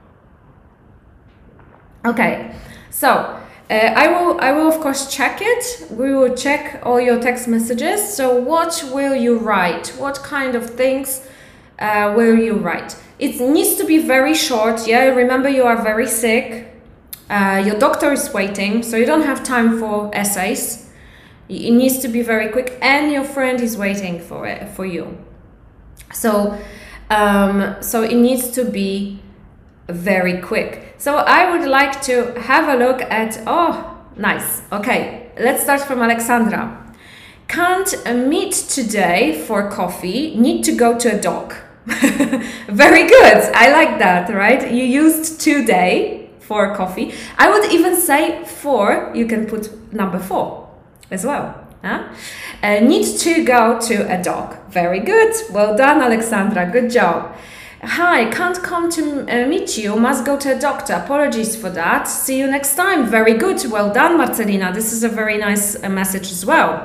Okay, so I will of course check it. We will check all your text messages. So what will you write? What kind of things will you write? It needs to be very short. Yeah, remember you are very sick. Your doctor is waiting, so you don't have time for essays. It needs to be very quick, and your friend is waiting for you. So it needs to be very quick. So I would like to have a look at. Oh, nice. Okay, let's start from Alexandra. Can't meet today for coffee. Need to go to a doc. Very good. I like that, right? You used today for coffee. I would even say for, you can put number 4 as well. Huh? Need to go to a doc. Very good. Well done, Alexandra. Good job. Hi, can't come to meet you. Must go to a doctor. Apologies for that. See you next time. Very good. Well done, Marcelina. This is a very nice message as well.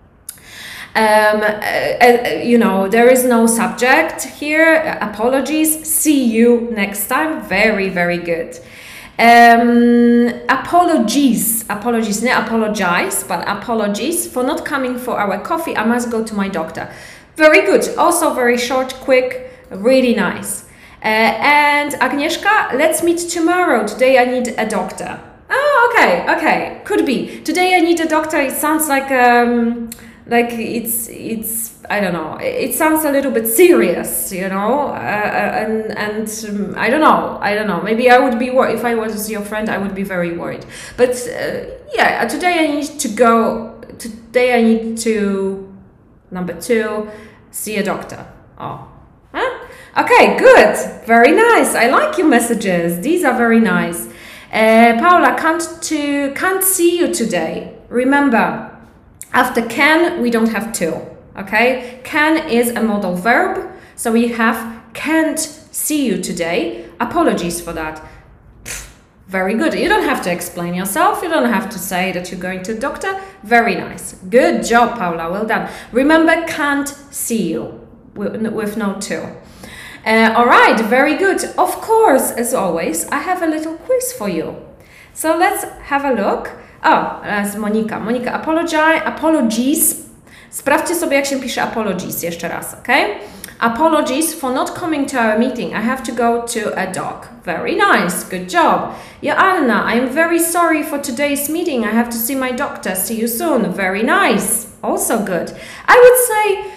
There is no subject here. Apologies. See you next time. Very, very good. Apologies, not apologize, but apologies for not coming for our coffee. I must go to my doctor. Very good. Also very short, quick, really nice. And Agnieszka, let's meet tomorrow. Today I need a doctor. Oh, okay. Could be. Today I need a doctor. It sounds like it's I don't know. It sounds a little bit serious, and I don't know. Maybe I would be worried if I was your friend. I would be very worried. But today I need to go. Today I need to number 2 see a doctor. Oh, huh? Okay, good, very nice. I like your messages. These are very nice. Paula, can't see you today. Remember. After can, we don't have to, okay? Can is a modal verb, so we have can't see you today. Apologies for that. Very good. You don't have to explain yourself. You don't have to say that you're going to the doctor. Very nice. Good job, Paula. Well done. Remember, can't see you with no to. All right, very good. Of course, as always, I have a little quiz for you. So let's have a look. Z Monika. Monika, apologies. Sprawdźcie sobie, jak się pisze apologies jeszcze raz, ok? Apologies for not coming to our meeting. I have to go to a doc. Very nice. Good job. Joanna, I am very sorry for today's meeting. I have to see my doctor. See you soon. Very nice. Also good. I would say,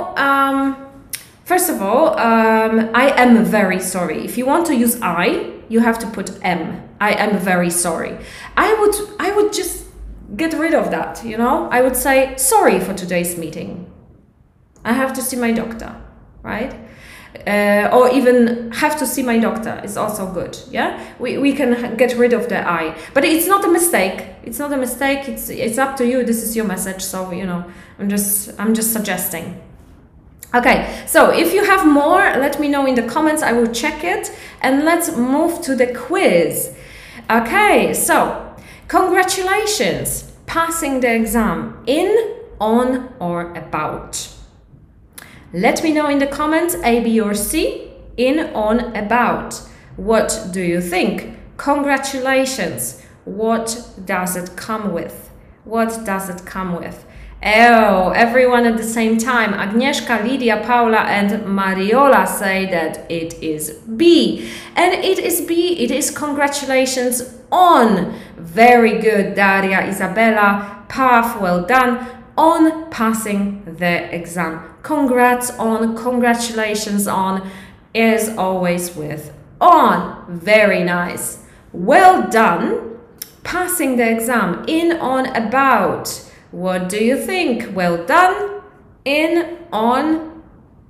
first of all, I am very sorry. If you want to use I, you have to put am. I am very sorry. I would just get rid of that, you know? I would say, sorry for today's meeting. I have to see my doctor, right? Or even have to see my doctor is also good. Yeah, we can get rid of the I, but it's not a mistake. It's not a mistake. It's up to you. This is your message. So you know, I'm just suggesting. Okay, so if you have more, let me know in the comments. I will check it, and let's move to the quiz. Okay, so congratulations, passing the exam in, on, or about. Let me know in the comments, A, B, or C, in, on, about. What do you think? Congratulations. What does it come with? What does it come with? Oh, everyone at the same time. Agnieszka, Lydia, Paula, and Mariola say that it is B. And it is B. It is congratulations on. Very good, Daria, Isabella, Pav, well done. On passing the exam. Congrats on, congratulations on, is always with on. Very nice. Well done. Passing the exam. In, on, about. What do you think? Well done. In, on,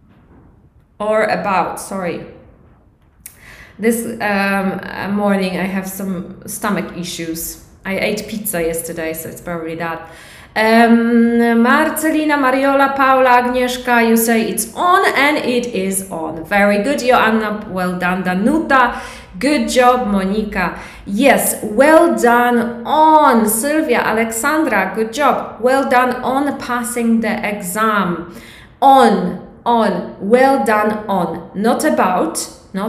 or about. Sorry. This morning I have some stomach issues. I ate pizza yesterday, so it's probably that. Marcelina, Mariola, Paula, Agnieszka, you say it's on, and it is on. Very good, Joanna, well done. Danuta, good job. Monika, yes, well done on. Sylvia, Alexandra, good job. Well done on passing the exam. On, well done on. Not about,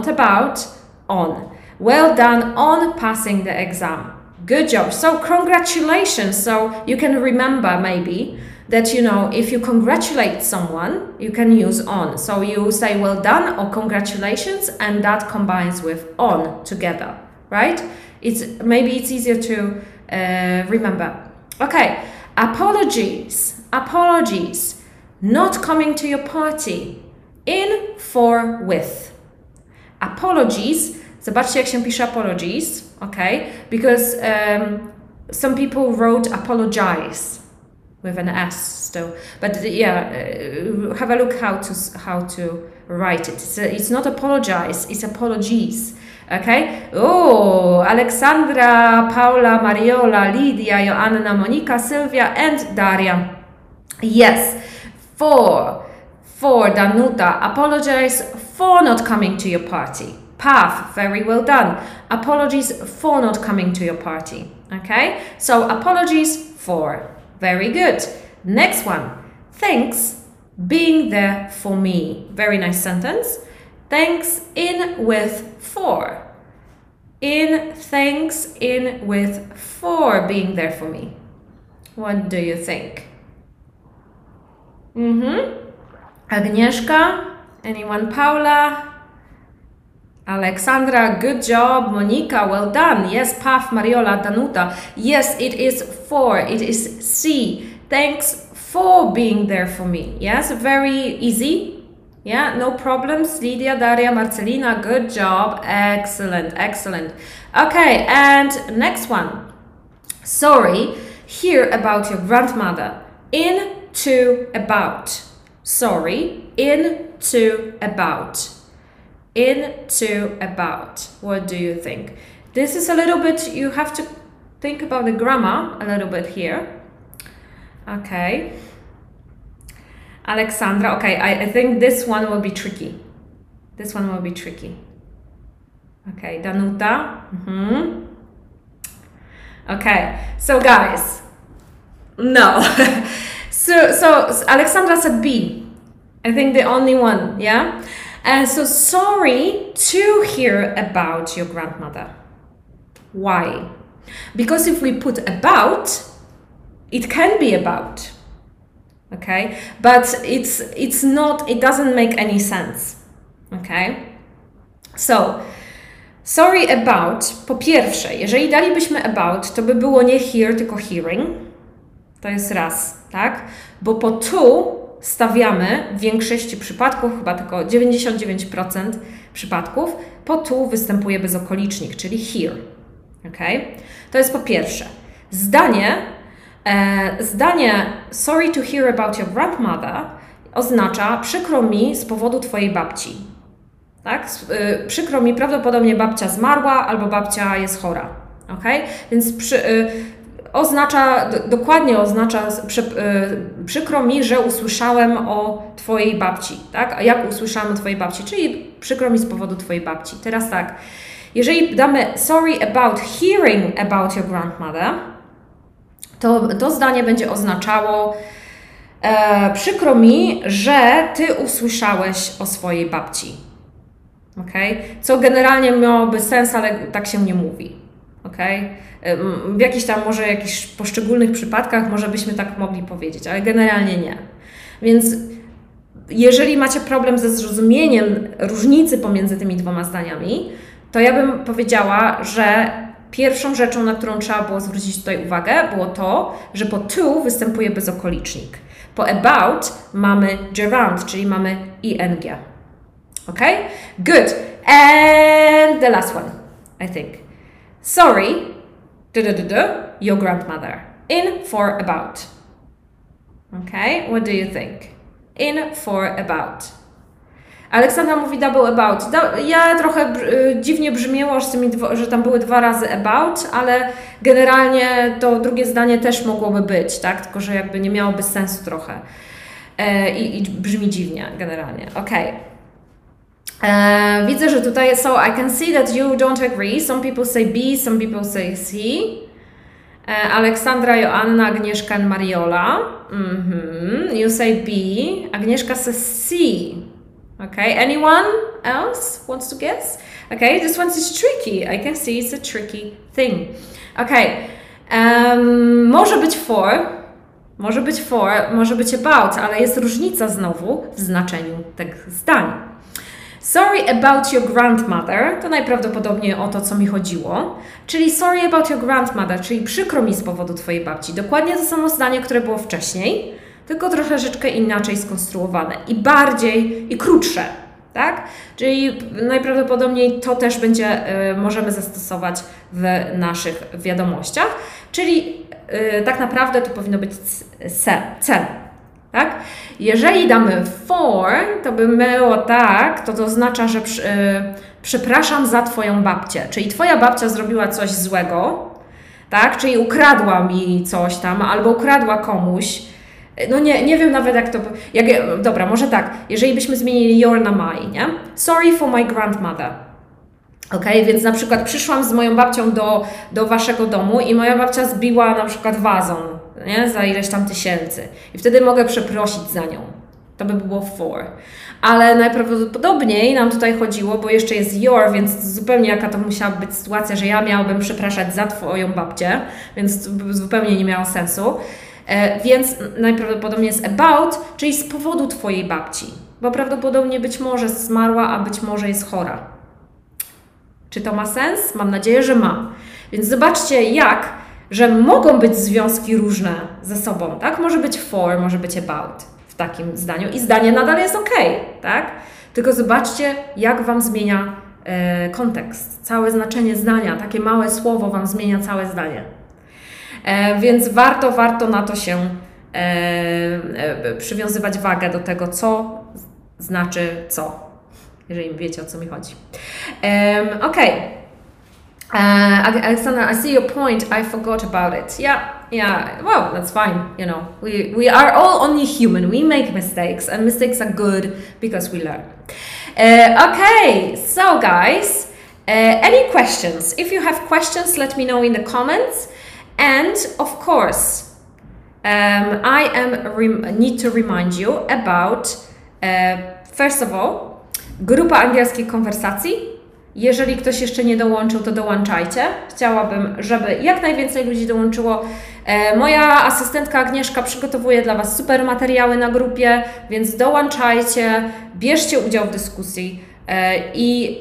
on. Well done on passing the exam. Good job. So congratulations. So you can remember maybe that, you know, if you congratulate someone, you can use on. So you say well done or congratulations, and that combines with on together, right? Maybe it's easier to remember. Okay. Apologies. Not coming to your party. In, for, with. Apologies. Zobaczcie, jak się pisze apologies, okay? Because some people wrote apologize with an S still. But yeah, have a look how to write it. It's not apologize, it's apologies, okay? Oh, Alexandra, Paula, Mariola, Lydia, Joanna, Monika, Sylvia, and Daria. Yes, for Danuta, apologize for not coming to your party. Path, very well done. Apologies for not coming to your party. Okay, so apologies for. Very good. Next one. Thanks being there for me. Very nice sentence. Thanks in with for. In, thanks in with for being there for me. What do you think? Agnieszka? Anyone? Paula? Alexandra, good job. Monika, well done. Yes, Paf, Mariola, Danuta. Yes, it is for. It is C. Thanks for being there for me. Yes, very easy. Yeah, no problems. Lydia, Daria, Marcelina, good job. Excellent, excellent. Okay, and next one. Sorry, hear about your grandmother. In, to, about. Sorry, in, to, about. In, to, about. What do you think? This is a little bit, you have to think about the grammar a little bit here. Okay. Alexandra, okay, I think this one will be tricky. This one will be tricky. Okay, Danuta. Okay, so guys, no. so Alexandra said B. I think the only one, yeah? So sorry to hear about your grandmother. Why? Because if we put about, it can be about. Okay? But it's not, it doesn't make any sense. Okay? So, sorry about, po pierwsze, jeżeli dalibyśmy about, to by było nie hear, tylko hearing. To jest raz, tak? Bo po to stawiamy w większości przypadków, chyba tylko 99%, przypadków po tu występuje bezokolicznik, czyli here. Okay? To jest po pierwsze. Zdanie sorry to hear about your grandmother oznacza przykro mi z powodu twojej babci. Tak? Przykro mi, prawdopodobnie babcia zmarła albo babcia jest chora. Okay? Więc dokładnie oznacza przykro mi, że usłyszałem o twojej babci. Tak? A jak usłyszałem o twojej babci? Czyli przykro mi z powodu twojej babci. Teraz tak, jeżeli damy sorry about hearing about your grandmother, to zdanie będzie oznaczało przykro mi, że ty usłyszałeś o swojej babci. Okay? Co generalnie miałoby sens, ale tak się nie mówi. Okay? W jakichś poszczególnych przypadkach może byśmy tak mogli powiedzieć, ale generalnie nie. Więc jeżeli macie problem ze zrozumieniem różnicy pomiędzy tymi dwoma zdaniami, to ja bym powiedziała, że pierwszą rzeczą, na którą trzeba było zwrócić tutaj uwagę, było to, że po to występuje bezokolicznik. Po about mamy gerund, czyli mamy ing. Okay? Good. And the last one, I think. Sorry, your grandmother. In for about. Okay? What do you think? In for about. Aleksandra mówi double about. Ja trochę dziwnie brzmiało, że tam były 2 razy about, ale generalnie to drugie zdanie też mogłoby być, tak? Tylko że jakby nie miałoby sensu trochę. I brzmi dziwnie generalnie. Okay. Widzę, że tutaj I can see that you don't agree. Some people say B, some people say C. Aleksandra, Joanna, Agnieszka and Mariola. You say B. Agnieszka says C. Okay, anyone else wants to guess? Okay, this one is tricky. I can see it's a tricky thing. Okay, może być for, może być about, ale jest różnica znowu w znaczeniu tych zdań. Sorry about your grandmother, to najprawdopodobniej o to, co mi chodziło, czyli sorry about your grandmother, czyli przykro mi z powodu twojej babci. Dokładnie to samo zdanie, które było wcześniej, tylko troszeczkę inaczej skonstruowane i krótsze, tak? Czyli najprawdopodobniej to też możemy zastosować w naszych wiadomościach, czyli tak naprawdę to powinno być cel. Tak? Jeżeli damy for, to by było tak, to oznacza, że przepraszam za twoją babcię, czyli twoja babcia zrobiła coś złego, tak? Czyli ukradła mi coś tam, albo ukradła komuś. No nie wiem nawet jak to... Dobra, może tak, jeżeli byśmy zmienili your na my, nie? Sorry for my grandmother. Okay, więc na przykład przyszłam z moją babcią do waszego domu i moja babcia zbiła na przykład wazon, nie? Za ileś tam tysięcy. I wtedy mogę przeprosić za nią. To by było for. Ale najprawdopodobniej nam tutaj chodziło, bo jeszcze jest your, więc zupełnie jaka to musiała być sytuacja, że ja miałabym przepraszać za twoją babcię, więc to by zupełnie nie miało sensu. Więc najprawdopodobniej jest about, czyli z powodu twojej babci. Bo prawdopodobnie być może zmarła, a być może jest chora. Czy to ma sens? Mam nadzieję, że ma. Więc zobaczcie że mogą być związki różne ze sobą, tak? Może być for, może być about w takim zdaniu i zdanie nadal jest ok, tak? Tylko zobaczcie, jak Wam zmienia kontekst, całe znaczenie zdania. Takie małe słowo Wam zmienia całe zdanie. Więc warto na to się przywiązywać wagę do tego, co znaczy co. Jeżeli wiecie, o co mi chodzi. Okay. Alexandra, I see your point. I forgot about it. Yeah. Well, that's fine. You know, we are all only human. We make mistakes, and mistakes are good because we learn. Okay. So, guys, any questions? If you have questions, let me know in the comments. And of course, I need to remind you about first of all. Grupa angielskiej konwersacji. Jeżeli ktoś jeszcze nie dołączył, to dołączajcie. Chciałabym, żeby jak najwięcej ludzi dołączyło. Moja asystentka Agnieszka przygotowuje dla Was super materiały na grupie, więc dołączajcie, bierzcie udział w dyskusji i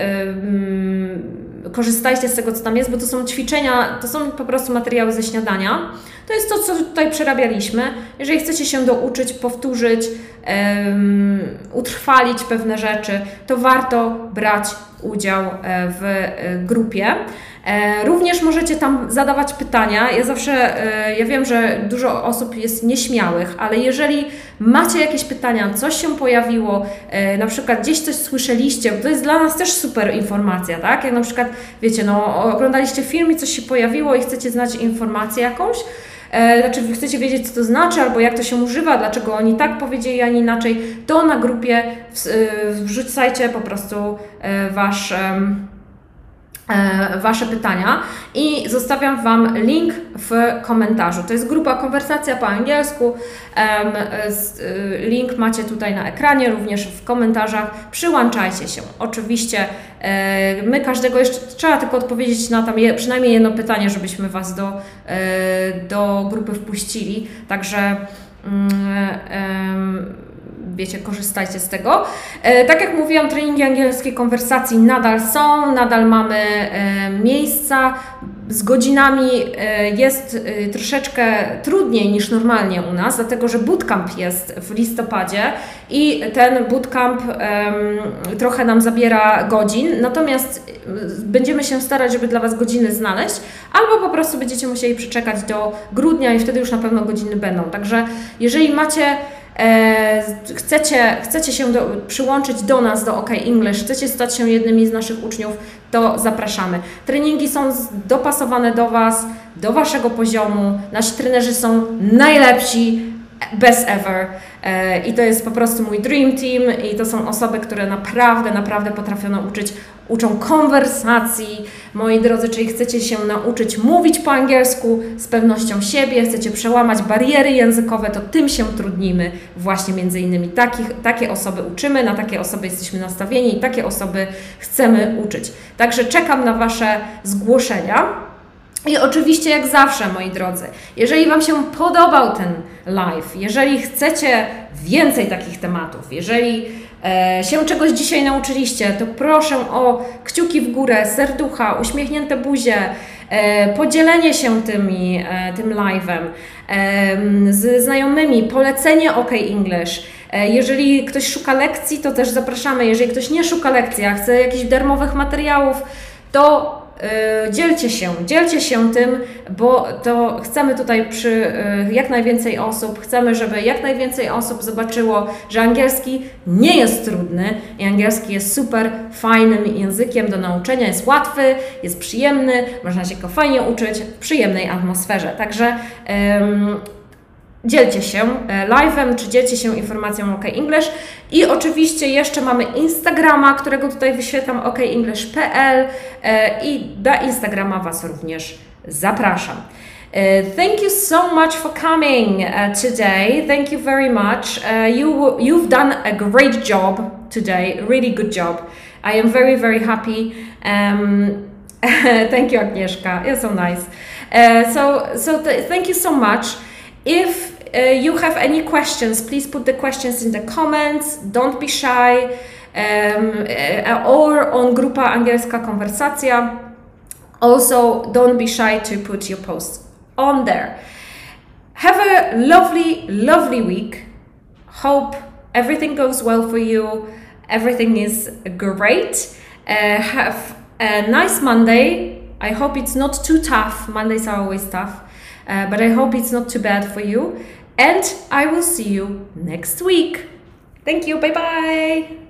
korzystajcie z tego, co tam jest, bo to są ćwiczenia, to są po prostu materiały ze śniadania. To jest to, co tutaj przerabialiśmy. Jeżeli chcecie się douczyć, powtórzyć, utrwalić pewne rzeczy, to warto brać udział w grupie. Również możecie tam zadawać pytania. Ja wiem, że dużo osób jest nieśmiałych, ale jeżeli macie jakieś pytania, coś się pojawiło, na przykład gdzieś coś słyszeliście, to jest dla nas też super informacja, tak? Jak na przykład, wiecie, oglądaliście film i coś się pojawiło i chcecie znać informację jakąś, znaczy wy chcecie wiedzieć, co to znaczy, albo jak to się używa, dlaczego oni tak powiedzieli, a nie inaczej, to na grupie wrzucajcie po prostu Wasze pytania i zostawiam Wam link w komentarzu. To jest grupa Konwersacja po angielsku. Link macie tutaj na ekranie, również w komentarzach. Przyłączajcie się. Oczywiście my każdego jeszcze trzeba tylko odpowiedzieć na tam przynajmniej jedno pytanie, żebyśmy Was do grupy wpuścili. Także wiecie, korzystajcie z tego. Tak jak mówiłam, treningi angielskiej konwersacji nadal są, nadal mamy miejsca. Z godzinami jest troszeczkę trudniej niż normalnie u nas, dlatego że bootcamp jest w listopadzie i ten bootcamp trochę nam zabiera godzin, natomiast będziemy się starać, żeby dla Was godziny znaleźć, albo po prostu będziecie musieli przeczekać do grudnia i wtedy już na pewno godziny będą. Także jeżeli chcecie się przyłączyć do nas, do OK English, chcecie stać się jednymi z naszych uczniów, to zapraszamy. Treningi są dopasowane do Was, do Waszego poziomu. Nasi trenerzy są najlepsi, best ever. I to jest po prostu mój dream team i to są osoby, które naprawdę potrafią uczą konwersacji. Moi drodzy, czyli chcecie się nauczyć mówić po angielsku z pewnością siebie, chcecie przełamać bariery językowe, to tym się trudnimy. Właśnie między innymi takie osoby uczymy, na takie osoby jesteśmy nastawieni i takie osoby chcemy uczyć. Także czekam na Wasze zgłoszenia. I oczywiście, jak zawsze, moi drodzy, jeżeli Wam się podobał ten live, jeżeli chcecie więcej takich tematów, jeżeli się czegoś dzisiaj nauczyliście, to proszę o kciuki w górę, serducha, uśmiechnięte buzie, podzielenie się tym live'em z znajomymi, polecenie OK English. Jeżeli ktoś szuka lekcji, to też zapraszamy. Jeżeli ktoś nie szuka lekcji, a chce jakichś darmowych materiałów, to dzielcie się tym, bo to chcemy tutaj jak najwięcej osób, chcemy, żeby jak najwięcej osób zobaczyło, że angielski nie jest trudny i angielski jest super fajnym językiem do nauczenia, jest łatwy, jest przyjemny, można się go fajnie uczyć w przyjemnej atmosferze. Także dzielcie się live'em, czy dzielcie się informacją o OK English. I oczywiście jeszcze mamy Instagrama, którego tutaj wyświetlam, okenglish.pl i na Instagrama Was również zapraszam. Thank you so much for coming today. Thank you very much. You've done a great job today, really good job. I am very happy. Thank you, Agnieszka. You're so nice. Thank you so much. If you have any questions, please put the questions in the comments. Don't be shy. Or on Grupa Angielska Konwersacja. Also, don't be shy to put your posts on there. Have a lovely week. Hope everything goes well for you. Everything is great. Have a nice Monday. I hope it's not too tough. Mondays are always tough. But I hope it's not too bad for you. And I will see you next week. Thank you. Bye bye.